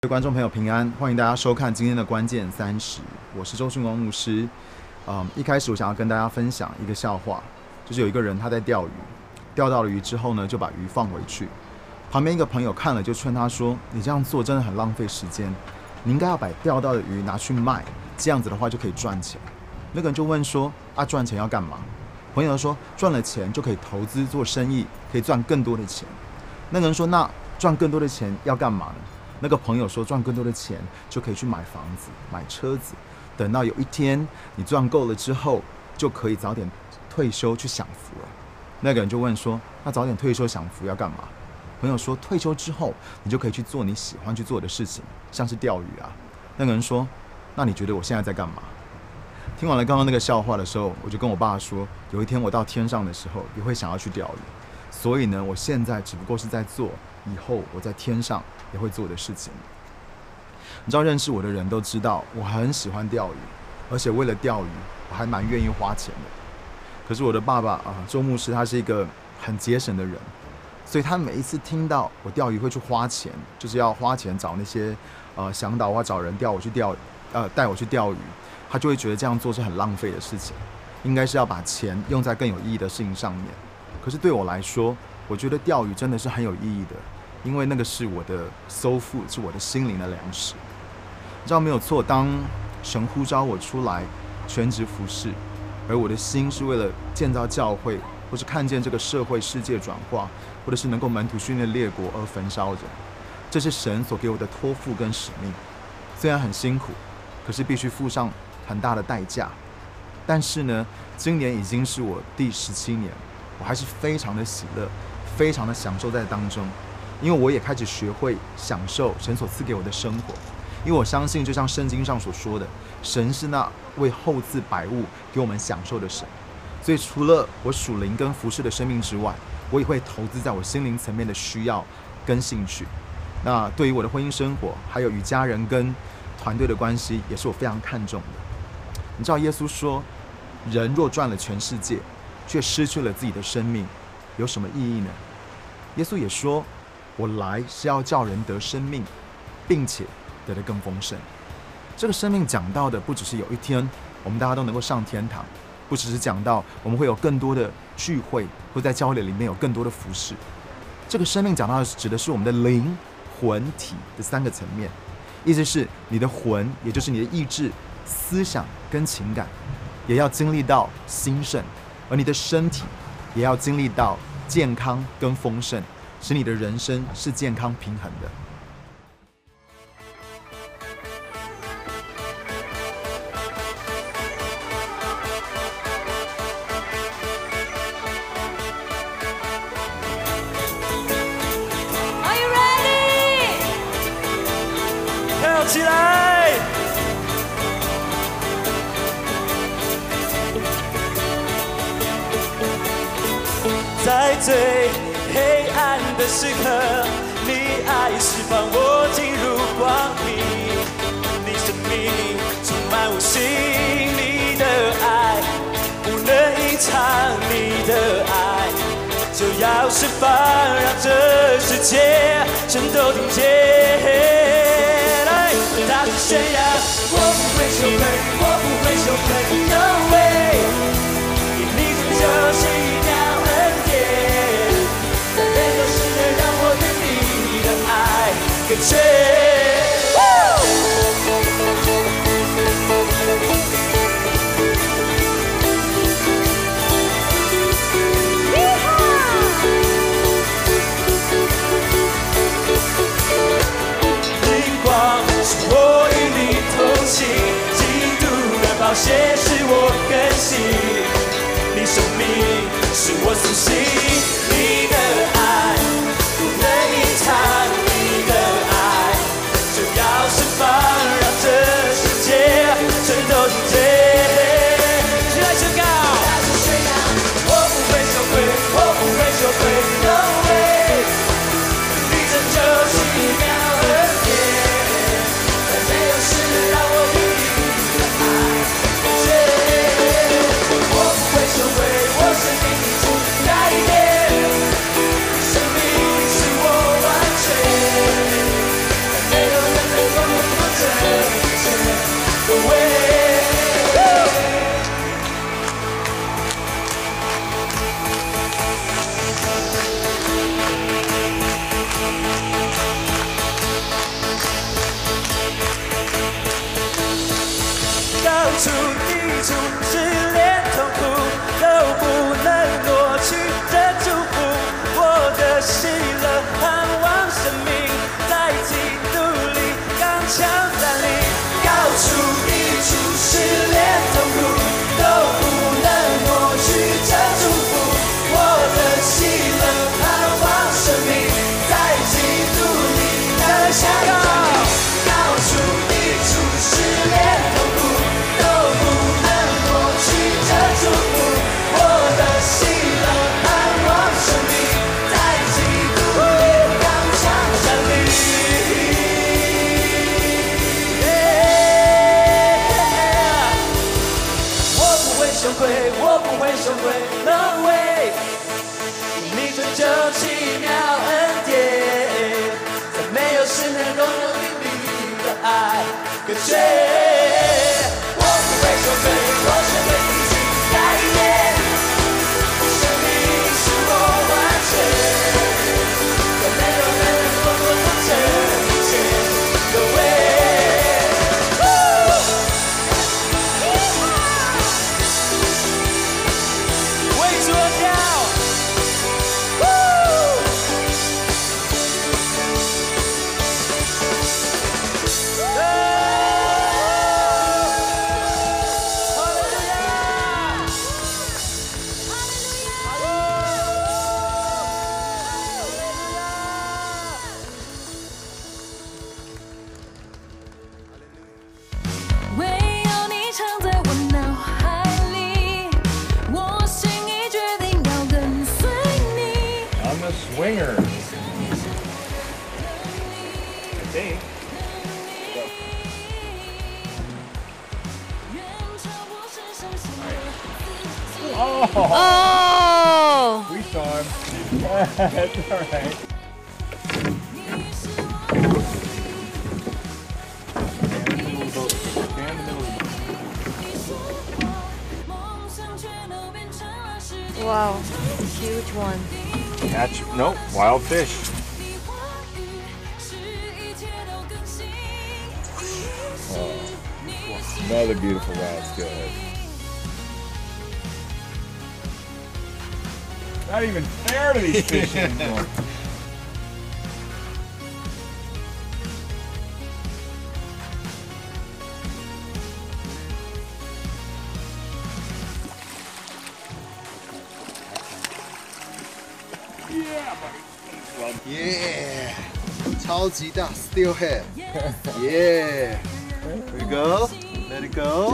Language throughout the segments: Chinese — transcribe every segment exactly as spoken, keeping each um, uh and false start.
各位观众朋友平安，欢迎大家收看今天的关键三十，我是周训光牧师。嗯，一开始我想要跟大家分享一个笑话，就是有一个人他在钓鱼，钓到了鱼之后呢，就把鱼放回去。旁边一个朋友看了就劝他说：“你这样做真的很浪费时间，你应该要把钓到的鱼拿去卖，这样子的话就可以赚钱。”那个人就问说：“啊，赚钱要干嘛？”朋友说：“赚了钱就可以投资做生意，可以赚更多的钱。”那个人说：“那赚更多的钱要干嘛呢？”那个朋友说：“赚更多的钱就可以去买房子、买车子，等到有一天你赚够了之后，就可以早点退休去享福了。”那个人就问说：“那早点退休享福要干嘛？”朋友说：“退休之后，你就可以去做你喜欢去做的事情，像是钓鱼啊。”那个人说：“那你觉得我现在在干嘛？”听完了刚刚那个笑话的时候，我就跟我爸说：“有一天我到天上的时候，也会想要去钓鱼。所以呢，我现在只不过是在做以后我在天上也会做的事情。”你知道，认识我的人都知道我很喜欢钓鱼，而且为了钓鱼，我还蛮愿意花钱的。可是我的爸爸啊，周牧师他是一个很节省的人，所以他每一次听到我钓鱼会去花钱，就是要花钱找那些呃向导啊，找人钓我去钓，呃带我去钓鱼，他就会觉得这样做是很浪费的事情，应该是要把钱用在更有意义的事情上面。可是对我来说，我觉得钓鱼真的是很有意义的，因为那个是我的收腹，是我的心灵的粮食。你知道没有错，当神呼召我出来全职服侍，而我的心是为了建造教会，或是看见这个社会世界转化，或者是能够门徒训练列国而焚烧着，这是神所给我的托付跟使命。虽然很辛苦，可是必须付上很大的代价。但是呢，今年已经是我第十七年，我还是非常的喜乐，非常的享受在当中，因为我也开始学会享受神所赐给我的生活。因为我相信，就像圣经上所说的，神是那为后赐百物给我们享受的神。所以除了我属灵跟服侍的生命之外，我也会投资在我心灵层面的需要跟兴趣。那对于我的婚姻生活，还有与家人跟团队的关系，也是我非常看重的。你知道耶稣说，人若赚了全世界，却失去了自己的生命，有什么意义呢？耶稣也说，我来是要叫人得生命，并且得得更丰盛。这个生命讲到的不只是有一天我们大家都能够上天堂，不只是讲到我们会有更多的聚会，会在教会里面有更多的服事。这个生命讲到的指的是我们的灵、魂、体的三个层面。意思是你的魂，也就是你的意志、思想跟情感，也要经历到兴盛，而你的身体也要经历到健康跟丰盛，使你的人生是健康平衡的。 起来！在最黑暗的时刻，你爱释放我进入光明，你生命充满我心，你的爱不能隐藏，你的爱就要释放，让这世界全都听见。大声宣扬，我不会羞愧，我不会羞愧 ，No way！ 因你拯救是一条恩典，在每个时刻让我与你的爱更深。宝血使我更新，你生命是我苏醒，你的爱不能隐藏，你的爱就要释放，让这世界全都听见。一起来宣告，大声宣扬，我不会羞愧，我不会羞愧 ，No way！ 你拯救是一秒恩典，在没有事让我与你的爱。我不会羞愧，我生命已经改变，生命是我完全。 处抵触，是连痛苦都不能夺去的祝福。我的喜乐、盼望、生命，在基督里刚强站立。高处抵触，是连痛苦都不能夺去这祝福。我的喜乐、盼望、生命，在基督里刚强站立。高处抵触，是连痛苦都不能夺去这祝福。我的喜乐、盼望、生命，在基督里刚强站立。我不会羞愧，我不会羞愧，No way！你拯救奇妙恩典，在没有事能够能力的爱隔绝。我不会羞愧，我只会继续改变。生命使我完全，在没有人能够能成全的way。为主而跳。 唯有你常在我脑海里，我心已决定要跟随你。 I'm a swinger. I think. 哦 Oh, we saw him. That's all right. Stand in the middle of the boat. Wow, huge one. Catch, nope, wild fish. Oh, another beautiful wild squid. Not even fair to these fish anymore. Yeah, buddy. Yeah，超级大 steelhead。Yeah， there you go， let it go。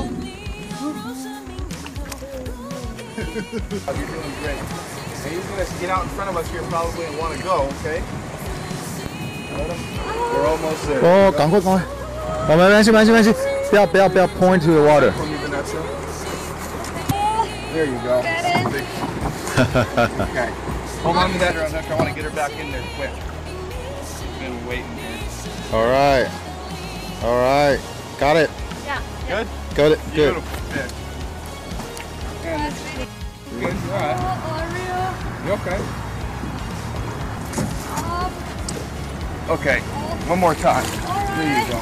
You're doing great. And he's gonna get out in front of us here probably and want to go, okay? Let him. We're almost there. 哦，赶快赶快，我没关系没关系没关系，不要不要不要 point to the water。 From you, Vanessa. There you go. Got it. Okay. Hold on to that, Vanessa. I want to get her back in there quick. She's been waiting here. All right, all right, got it, Yeah. Good? got it, good. Beautiful fish. And you good? You all right? You okay? Okay. One more time. There you go.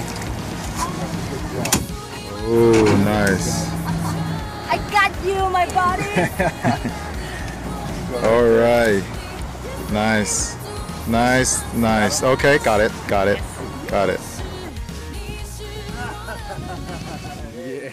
Oh, nice. I got you, my body. All right, nice, nice, nice. Okay, got it, got it, got it. Yeah.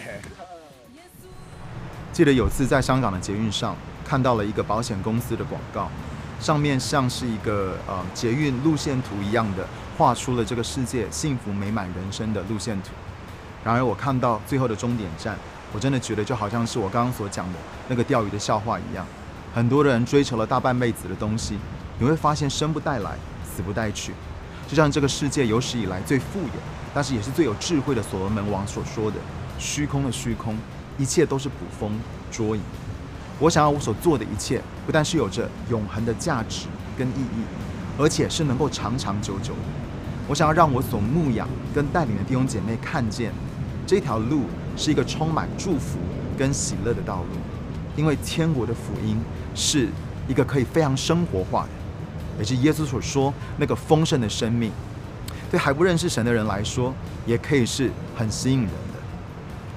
记得有次在香港的捷运上看到了一个保险公司的广告，上面像是一个呃捷运路线图一样的，画出了这个世界幸福美满人生的路线图。然而我看到最后的终点站，我真的觉得就好像是我刚刚所讲的那个钓鱼的笑话一样，很多人追求了大半辈子的东西，你会发现生不带来，死不带去。就像这个世界有史以来最富有，但是也是最有智慧的所罗门王所说的：虚空的虚空，一切都是捕风捉影。我想要我所做的一切，不但是有着永恒的价值跟意义，而且是能够长长久久的。我想要让我所牧养跟带领的弟兄姐妹看见，这条路是一个充满祝福跟喜乐的道路，因为天国的福音是一个可以非常生活化的，也是耶稣所说那个丰盛的生命。对还不认识神的人来说，也可以是很吸引人的。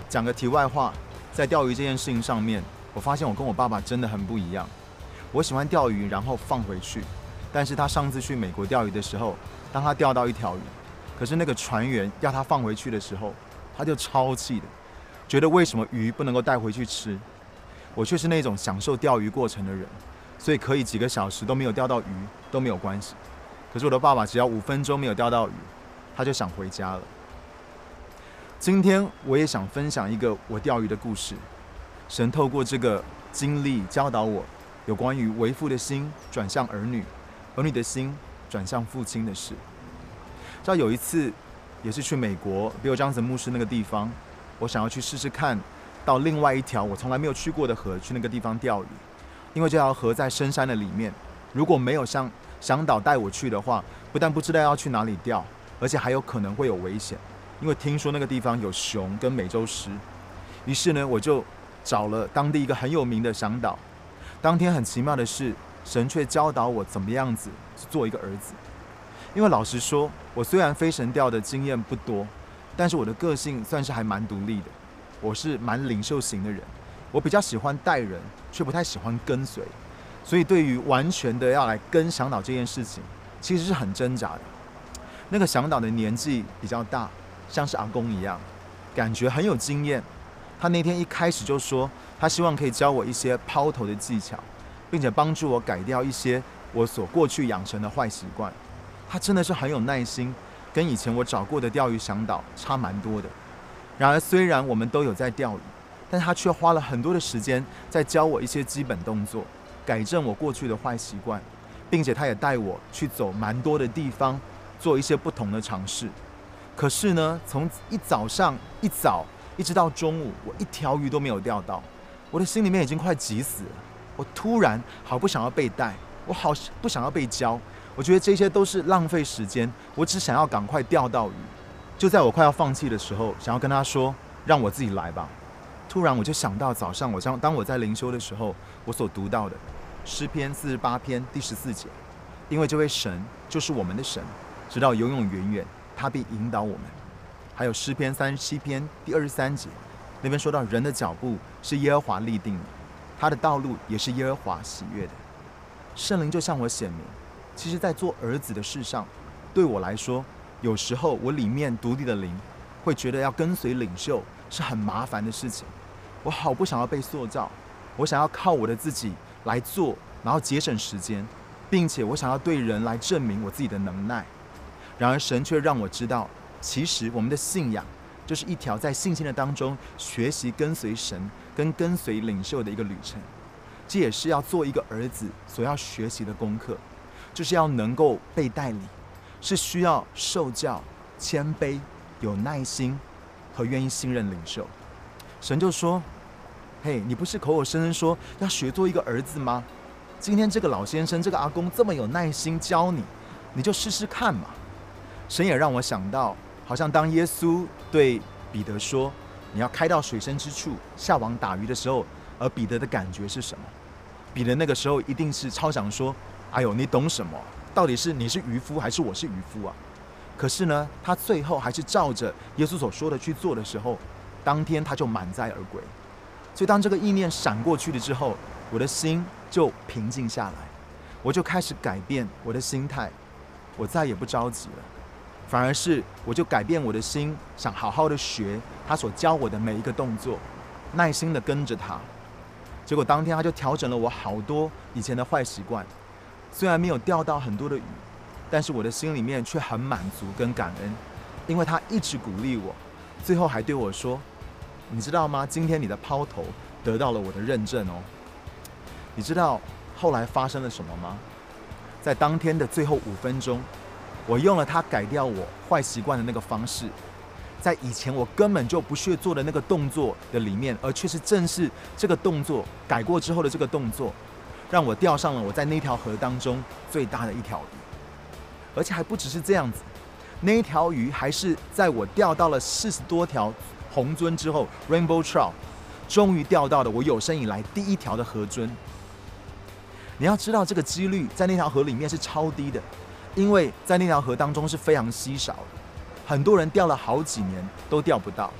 讲个题外话，在钓鱼这件事情上面，我发现我跟我爸爸真的很不一样。我喜欢钓鱼，然后放回去，但是他上次去美国钓鱼的时候，当他钓到一条鱼，可是那个船员要他放回去的时候，他就超气的，觉得为什么鱼不能够带回去吃？我却是那种享受钓鱼过程的人，所以可以几个小时都没有钓到鱼都没有关系。可是我的爸爸只要五分钟没有钓到鱼，他就想回家了。今天我也想分享一个我钓鱼的故事。神透过这个经历教导我有关于为父的心转向儿女，儿女的心转向父亲的事。知道有一次也是去美国比尔·张子牧师那个地方，我想要去试试看到另外一条我从来没有去过的河，去那个地方钓鱼。因为这条河在深山的里面，如果没有像向导带我去的话，不但不知道要去哪里钓，而且还有可能会有危险，因为听说那个地方有熊跟美洲狮。于是呢，我就找了当地一个很有名的向导。当天很奇妙的是，神却教导我怎么样子做一个儿子。因为老实说，我虽然飞神钓的经验不多，但是我的个性算是还蛮独立的。我是蛮领袖型的人，我比较喜欢带人，却不太喜欢跟随。所以对于完全的要来跟向导这件事情，其实是很挣扎的。那个向导的年纪比较大，像是阿公一样，感觉很有经验。他那天一开始就说，他希望可以教我一些抛投的技巧，并且帮助我改掉一些我所过去养成的坏习惯。他真的是很有耐心，跟以前我找过的钓鱼向导差蛮多的。然而虽然我们都有在钓鱼，但他却花了很多的时间在教我一些基本动作，改正我过去的坏习惯，并且他也带我去走蛮多的地方，做一些不同的尝试。可是呢，从一早上一早一直到中午，我一条鱼都没有钓到，我的心里面已经快急死了。我突然好不想要被带，我好不想要被教，我觉得这些都是浪费时间，我只想要赶快钓到鱼。就在我快要放弃的时候，想要跟他说让我自己来吧，突然我就想到早上我当我在灵修的时候，我所读到的诗篇四十八篇第十四节，因为这位神就是我们的神，直到永永远远，他必引导我们。还有诗篇三十七篇第二十三节，那边说到人的脚步是耶和华立定的，他的道路也是耶和华喜悦的。圣灵就向我显明，其实在做儿子的事上，对我来说，有时候我里面独立的灵会觉得要跟随领袖是很麻烦的事情。我好不想要被塑造，我想要靠我的自己来做，然后节省时间，并且我想要对人来证明我自己的能耐。然而神却让我知道，其实我们的信仰就是一条在信心的当中学习跟随神跟跟随领袖的一个旅程。这也是要做一个儿子所要学习的功课，就是要能够被带领，是需要受教、谦卑、有耐心和愿意信任领袖。神就说，嘿，你不是口口声声说要学做一个儿子吗？今天这个老先生，这个阿公这么有耐心教你，你就试试看嘛。神也让我想到，好像当耶稣对彼得说你要开到水深之处下网打鱼的时候，而彼得的感觉是什么？彼得那个时候一定是超想说，哎呦，你懂什么？到底是你是渔夫还是我是渔夫啊？可是呢，他最后还是照着耶稣所说的去做的时候，当天他就满载而归。所以当这个意念闪过去了之后，我的心就平静下来，我就开始改变我的心态，我再也不着急了，反而是我就改变我的心，想好好的学他所教我的每一个动作，耐心的跟着他。结果当天他就调整了我好多以前的坏习惯，虽然没有钓到很多的鱼，但是我的心里面却很满足跟感恩，因为他一直鼓励我，最后还对我说，你知道吗？今天你的抛投得到了我的认证哦。你知道后来发生了什么吗？在当天的最后五分钟，我用了他改掉我坏习惯的那个方式，在以前我根本就不屑做的那个动作的里面，而却是正是这个动作改过之后的这个动作，让我钓上了我在那条河当中最大的一条鱼。而且还不只是这样子，那一条鱼还是在我钓到了四十多条红鳟之后 Rainbow Trout， 终于钓到了我有生以来第一条的河鳟。你要知道这个几率在那条河里面是超低的，因为在那条河当中是非常稀少的，很多人钓了好几年都钓不到。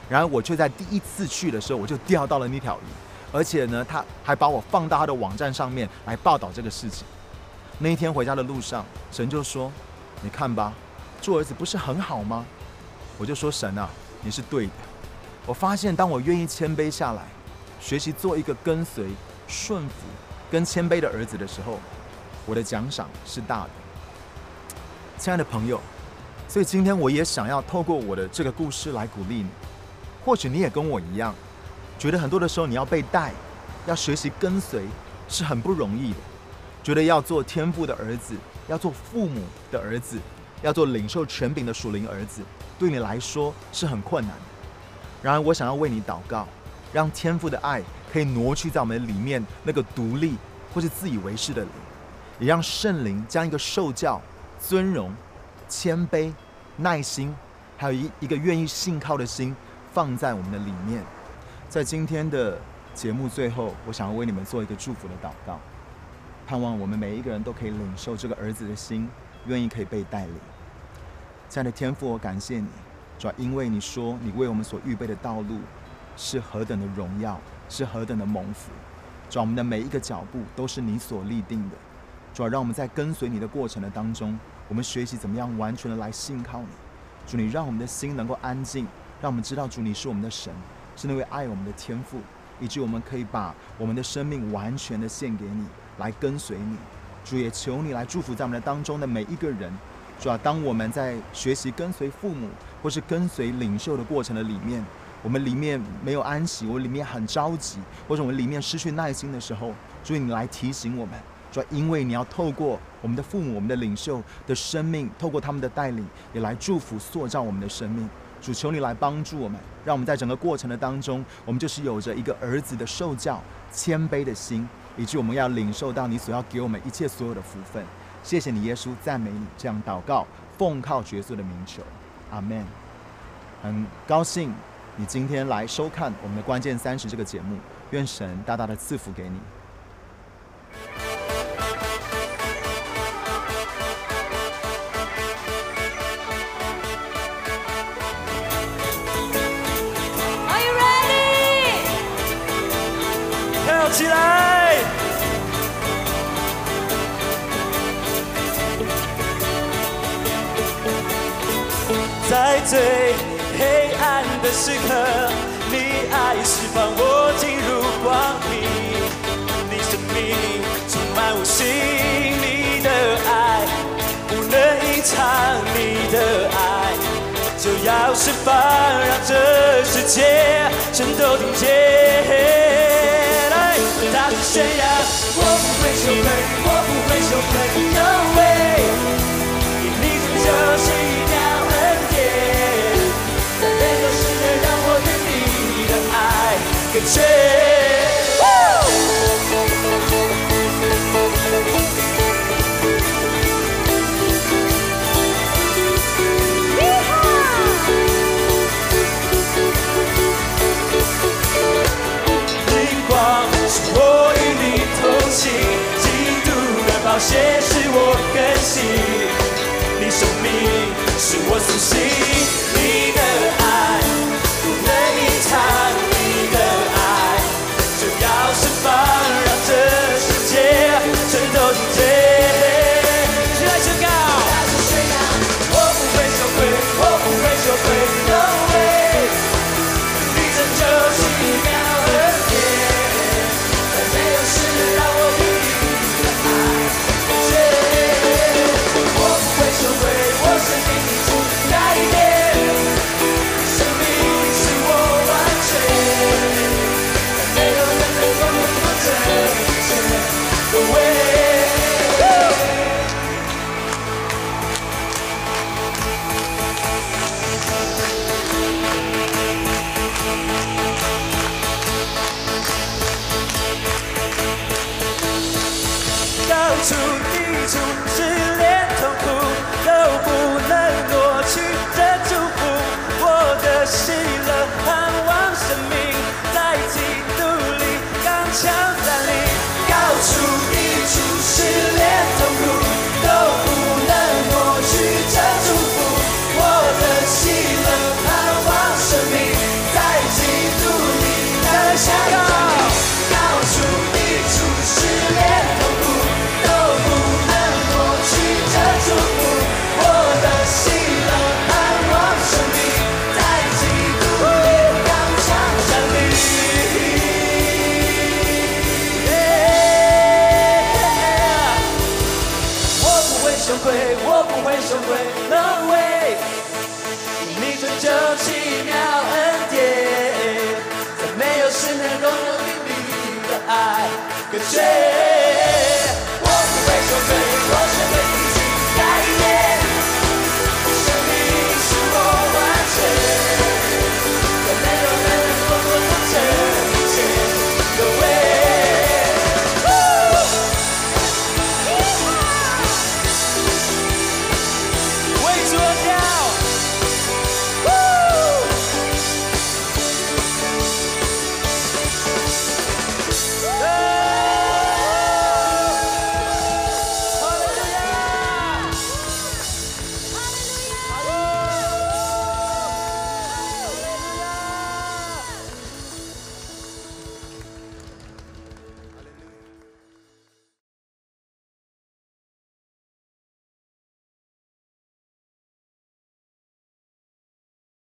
然而我却在第一次去的时候，我就钓到了那条鱼，而且呢，他还把我放到他的网站上面来报道这个事情。那一天回家的路上，神就说：“你看吧，做儿子不是很好吗？”我就说：“神啊，你是对的。我发现，当我愿意谦卑下来，学习做一个跟随、顺服跟谦卑的儿子的时候，我的奖赏是大的。”亲爱的朋友，所以今天我也想要透过我的这个故事来鼓励你。或许你也跟我一样，觉得很多的时候你要被带，要学习跟随是很不容易的，觉得要做天父的儿子，要做父母的儿子，要做领受权柄的属灵儿子，对你来说是很困难的。然而我想要为你祷告，让天父的爱可以挪去在我们里面那个独立或是自以为是的灵，也让圣灵将一个受教、尊荣、谦卑、耐心，还有一一个愿意信靠的心放在我们的里面。在今天的节目最后，我想要为你们做一个祝福的祷告，盼望我们每一个人都可以领受这个儿子的心，愿意可以被带领。亲爱的天父，我感谢你，主要因为你说你为我们所预备的道路是何等的荣耀，是何等的蒙福。主要我们的每一个脚步都是你所立定的。主要让我们在跟随你的过程的当中，我们学习怎么样完全的来信靠你。主，你让我们的心能够安静，让我们知道主你是我们的神，是那位爱我们的天父，以及我们可以把我们的生命完全的献给你，来跟随你。主，也求你来祝福在我们的当中的每一个人。主啊，当我们在学习跟随父母或是跟随领袖的过程的里面，我们里面没有安息，我们里面很着急，或者我们里面失去耐心的时候，主你来提醒我们。主，因为你要透过我们的父母、我们的领袖的生命，透过他们的带领，也来祝福塑造我们的生命。主，求你来帮助我们，让我们在整个过程的当中，我们就是有着一个儿子的受教、谦卑的心，以及我们要领受到你所要给我们一切所有的福分。谢谢你，耶稣，赞美你。这样祷告，奉靠耶稣的名求，阿们。很高兴你今天来收看我们的关键三十这个节目，愿神大大的赐福给你。 起来！在最黑暗的时刻，你爱释放我进入光明，你生命充满无形，你的爱不能隐藏，你的爱就要释放，让这世界全都听见。大声宣扬，我不会羞愧，我不会羞愧 ，No way， 因你拯救奇妙恩典，在每个时刻让我与你的爱更确。我与你同行，基督的宝血使我更新，你生命是我苏醒，你的爱不能隐藏，你的爱就要释放，让这世界全都听见。起来宣告，大声宣扬，我不会羞愧，我不会羞愧 ，No way， 你拯救奇妙恩典。让我与你的爱更深，我不会羞愧，我生命里主改变，生命使我完全，在没有人能够能够证实的唯。高处低处，失恋痛苦都不能夺去这祝福，我的心